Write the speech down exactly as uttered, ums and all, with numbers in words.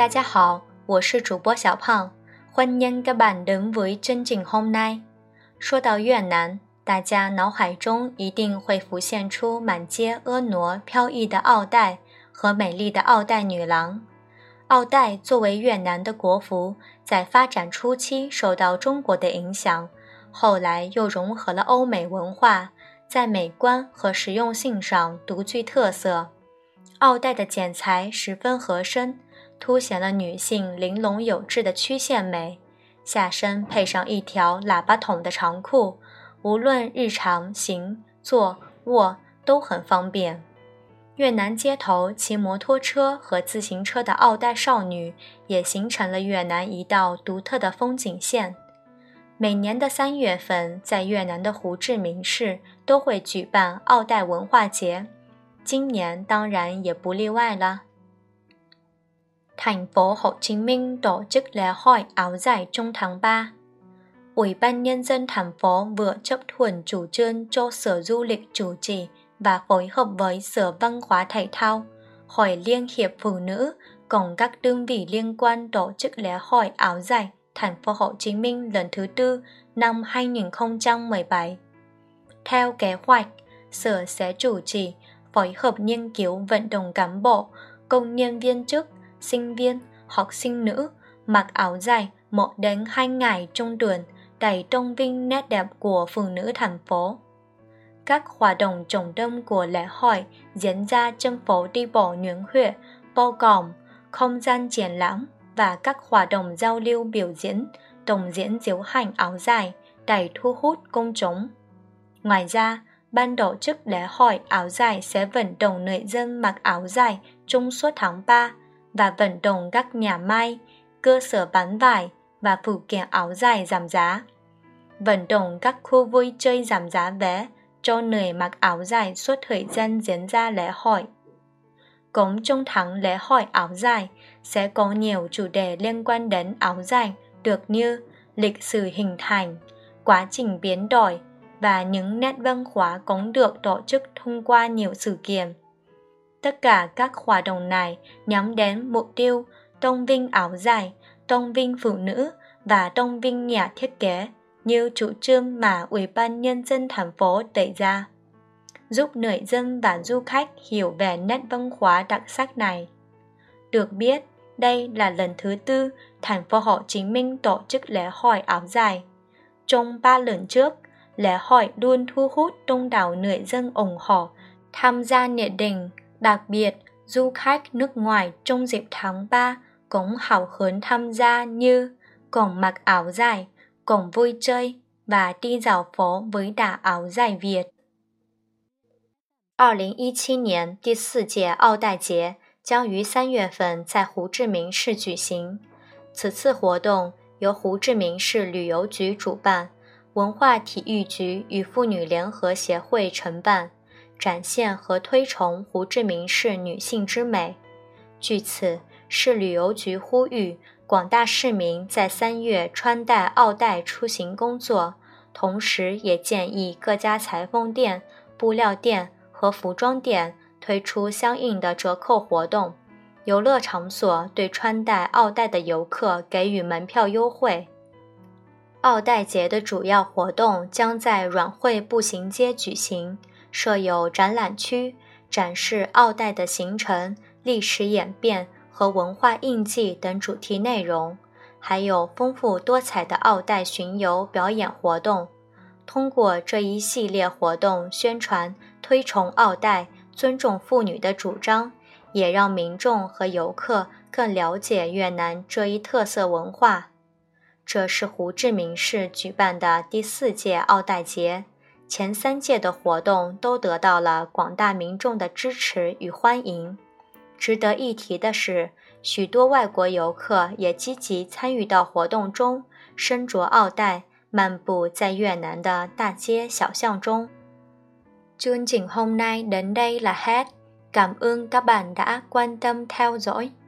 大家好，我是主播小胖，欢迎các bạn đến với chương trình hôm nay。说到越南，大家脑海中一定会浮现出满街婀娜飘逸的奥黛和美丽的奥黛女郎。奥黛作为越南的国服，在发展初期受到中国的影响，后来又融合了欧美文化，在美观和实用性上独具特色。奥黛的剪裁十分合身，凸显了女性玲珑有致的曲线美，下身配上一条喇叭筒的长裤，无论日常行、坐、卧都很方便。越南街头骑摩托车和自行车的奥黛少女也形成了越南一道独特的风景线。每年的三月份，在越南的胡志明市都会举办奥黛文化节，今年当然也不例外了。Thành phố Hồ Chí Minh tổ chức lễ hội áo dài trong tháng ba. Ủy ban Nhân dân thành phố vừa chấp thuận chủ trương cho Sở Du lịch chủ trì và phối hợp với Sở Văn hóa Thể thao, Hội Liên hiệp Phụ nữ cùng các đơn vị liên quan tổ chức lễ hội áo dài thành phố Hồ Chí Minh lần thứ tư năm hai nghìn không trăm mười bảy. Theo kế hoạch, Sở sẽ chủ trì, phối hợp nghiên cứu vận động cán bộ, công nhân viên chức, sinh viên, học sinh nữ mặc áo dài một đến hai ngày trong tuần để tôn vinh nét đẹp của phụ nữ thành phố. Các hoạt động trọng tâm của lễ hội diễn ra trên phố đi bộ Nguyễn Huệ, bao gồm không gian triển lãm và các hoạt động giao lưu biểu diễn, tổng diễn diễu hành áo dài để thu hút công chúng. Ngoài ra, ban tổ chức lễ hội áo dài sẽ vận động người dân mặc áo dài trong suốt tháng ba và vận động các nhà may, cơ sở bán vải và phụ kiện áo dài giảm giá. Vận động các khu vui chơi giảm giá vé cho người mặc áo dài suốt thời gian diễn ra lễ hội. Cũng trong tháng lễ hội áo dài sẽ có nhiều chủ đề liên quan đến áo dài được như lịch sử hình thành, quá trình biến đổi và những nét văn hóa cũng được tổ chức thông qua nhiều sự kiện. Tất cả các hoạt động này nhắm đến mục tiêu tôn vinh áo dài, tôn vinh phụ nữ và tôn vinh nhà thiết kế như chủ trương mà Ủy ban Nhân dân thành phố đề ra, giúp người dân và du khách hiểu về nét văn hóa đặc sắc này. Được biết, đây là lần thứ tư thành phố Hồ Chí Minh tổ chức lễ hội áo dài. Trong ba lần trước, lễ hội luôn thu hút đông đảo người dân ủng hộ, tham gia nhiệt tình. Đặc biệt, du khách nước ngoài trong dịp tháng ba cũng hào hứng tham gia như cùng mặc áo dài, cùng vui chơi và đi dạo phố với đà áo dài Việt. 二零一七年第四届奥黛节将于三月份在胡志明市举行。此次活动由胡志明市旅游局主办，文化体育局与妇女联合协会承办，展现和推崇胡志明市女性之美。据此，市旅游局呼吁广大市民在三月穿戴奥黛出行工作，同时也建议各家裁缝店、布料店和服装店推出相应的折扣活动，游乐场所对穿戴奥黛的游客给予门票优惠。奥黛节的主要活动将在阮惠步行街举行，设有展览区，展示奥黛的形成、历史演变和文化印记等主题内容，还有丰富多彩的奥黛巡游表演活动。通过这一系列活动宣传推崇奥黛、尊重妇女的主张，也让民众和游客更了解越南这一特色文化。这是胡志明市举办的第四届奥黛节，前三届的活动都得到了广大民众的支持与欢迎。值得一提的是，许多外国游客也积极参与到活动中，身着奥黛，漫步在越南的大街小巷中。Chương trình hôm nay đến đây là hết. Cảm ơn các bạn đã quan tâm theo dõi.